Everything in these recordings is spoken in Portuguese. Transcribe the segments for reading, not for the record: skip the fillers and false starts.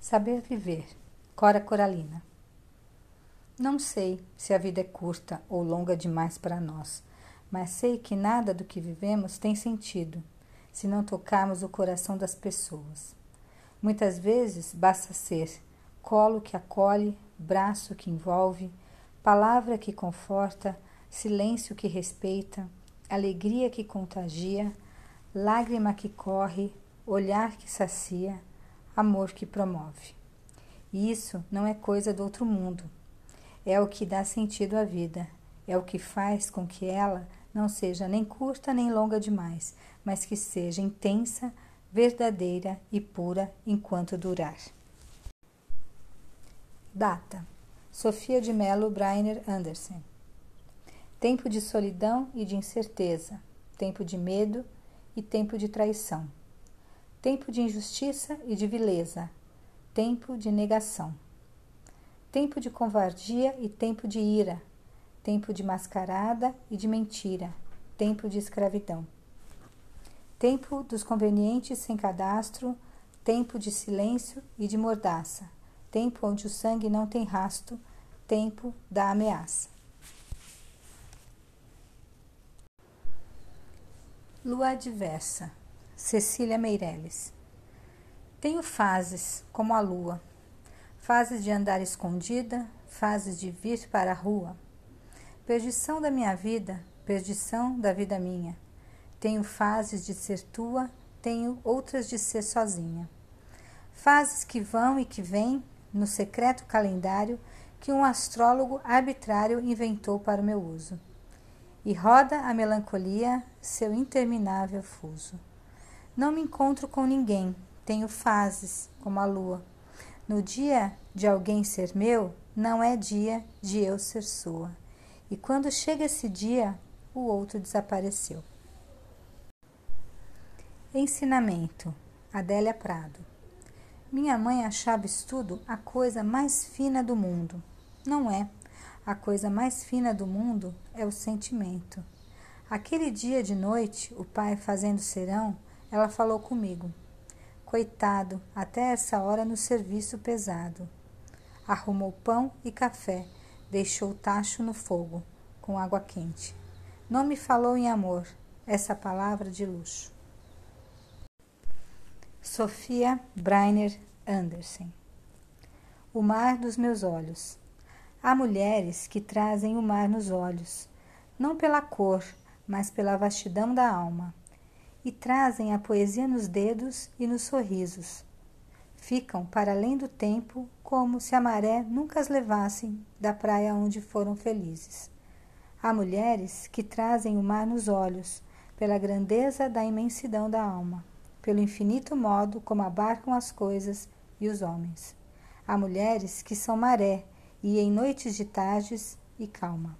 Saber viver. Cora Coralina. Não sei se a vida é curta ou longa demais para nós, mas sei que nada do que vivemos tem sentido, se não tocarmos o coração das pessoas. Muitas vezes basta ser colo que acolhe, braço que envolve, palavra que conforta, silêncio que respeita, alegria que contagia, lágrima que corre, olhar que sacia, amor que promove. E isso não é coisa do outro mundo. É o que dá sentido à vida. É o que faz com que ela não seja nem curta nem longa demais, mas que seja intensa, verdadeira e pura enquanto durar. Data: Sofia de Mello Brynner Andersen. Tempo de solidão e de incerteza, tempo de medo e tempo de traição, tempo de injustiça e de vileza, tempo de negação, tempo de covardia e tempo de ira, tempo de mascarada e de mentira, tempo de escravidão, tempo dos convenientes sem cadastro, tempo de silêncio e de mordaça, tempo onde o sangue não tem rasto, tempo da ameaça. Lua adversa. Cecília Meirelles. Tenho fases, como a lua, fases de andar escondida, fases de vir para a rua. Perdição da minha vida, perdição da vida minha. Tenho fases de ser tua, tenho outras de ser sozinha. Fases que vão e que vêm no secreto calendário que um astrólogo arbitrário inventou para o meu uso. E roda a melancolia seu interminável fuso. Não me encontro com ninguém, tenho fases, como a lua. No dia de alguém ser meu, não é dia de eu ser sua. E quando chega esse dia, o outro desapareceu. Ensinamento. Adélia Prado. Minha mãe achava estudo a coisa mais fina do mundo. Não é. A coisa mais fina do mundo é o sentimento. Aquele dia de noite, o pai fazendo serão, ela falou comigo. Coitado, até essa hora no serviço pesado. Arrumou pão e café, deixou o tacho no fogo, com água quente. Não me falou em amor, essa palavra de luxo. Sofia Brynner Andersen. O mar dos meus olhos. Há mulheres que trazem o mar nos olhos, não pela cor, mas pela vastidão da alma, e trazem a poesia nos dedos e nos sorrisos. Ficam para além do tempo, como se a maré nunca as levasse da praia onde foram felizes. Há mulheres que trazem o mar nos olhos, pela grandeza da imensidão da alma, pelo infinito modo como abarcam as coisas e os homens. Há mulheres que são maré, e em noites de tardes e calma.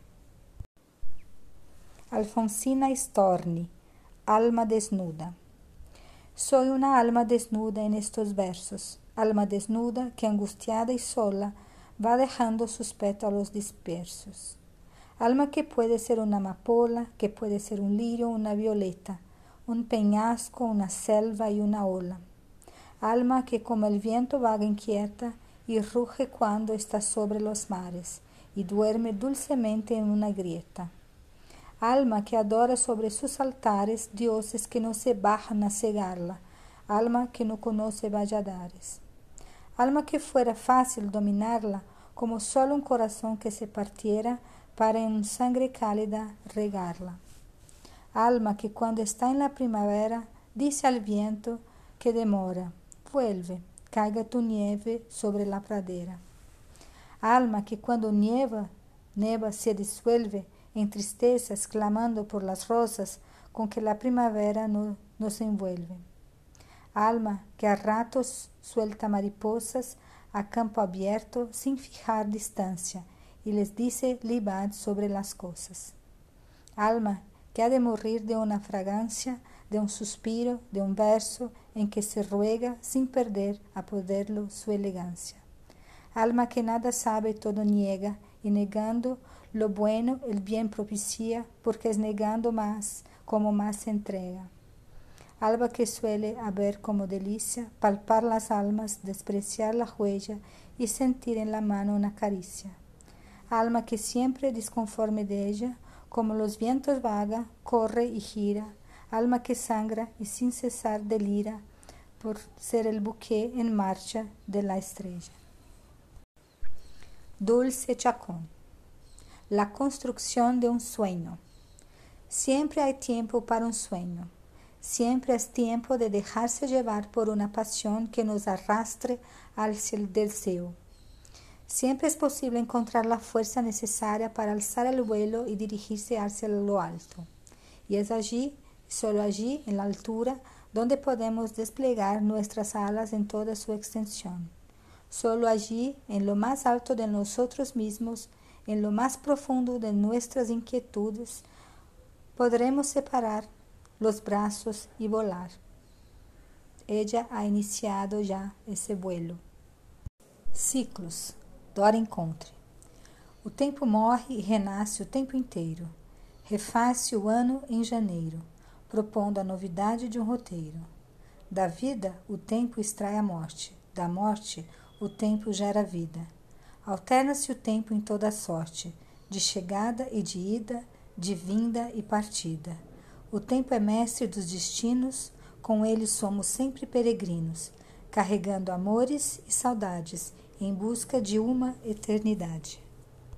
Alfonsina Storni, Alma desnuda. Soy una alma desnuda en estos versos, alma desnuda que angustiada y sola va dejando sus pétalos dispersos. Alma que puede ser una amapola, que puede ser un lirio, una violeta, un peñasco, una selva y una ola. Alma que como el viento vaga inquieta y ruge cuando está sobre los mares y duerme dulcemente en una grieta. Alma que adora sobre sus altares dioses que no se bajan a cegarla, alma que no conoce valladares. Alma que fuera fácil dominarla como solo un corazón que se partiera para en sangre cálida regarla. Alma que cuando está en la primavera dice al viento que demora, vuelve, caiga tu nieve sobre la pradera. Alma que cuando neva se disuelve en tristezas clamando por las rosas con que la primavera nos envuelve. Alma que a ratos suelta mariposas a campo abierto sin fijar distancia y les dice libad sobre las cosas. Alma que ha de morir de una fragancia, de un suspiro, de un verso en que se ruega sin perder a poderlo su elegancia. Alma que nada sabe y todo niega, y negando lo bueno el bien propicia, porque es negando más como más se entrega. alma que suele haber como delicia palpar las almas, despreciar la huella y sentir en la mano una caricia. Alma que siempre disconforme de ella, como los vientos vaga, corre y gira, alma que sangra y sin cesar delira por ser el buque en marcha de la estrella. Dulce Chacón. La construcción de un sueño. Siempre hay tiempo para un sueño. Siempre es tiempo de dejarse llevar por una pasión que nos arrastre hacia el deseo. Siempre es posible encontrar la fuerza necesaria para alzar el vuelo y dirigirse hacia lo alto. Y es allí, solo allí, en la altura, donde podemos desplegar nuestras alas en toda su extensión. Solo allí, en lo más alto de nosotros mismos, en lo más profundo de nuestras inquietudes, podremos separar los brazos y volar. Ella ha iniciado já esse vuelo. Ciclos. Dora Encontre. O tempo morre e renasce o tempo inteiro. Refaz-se o ano em janeiro, propondo a novidade de um roteiro. Da vida, o tempo extrai a morte. Da morte, o tempo gera vida. Alterna-se o tempo em toda sorte, de chegada e de ida, de vinda e partida. O tempo é mestre dos destinos, com ele somos sempre peregrinos, carregando amores e saudades, em busca de uma eternidade.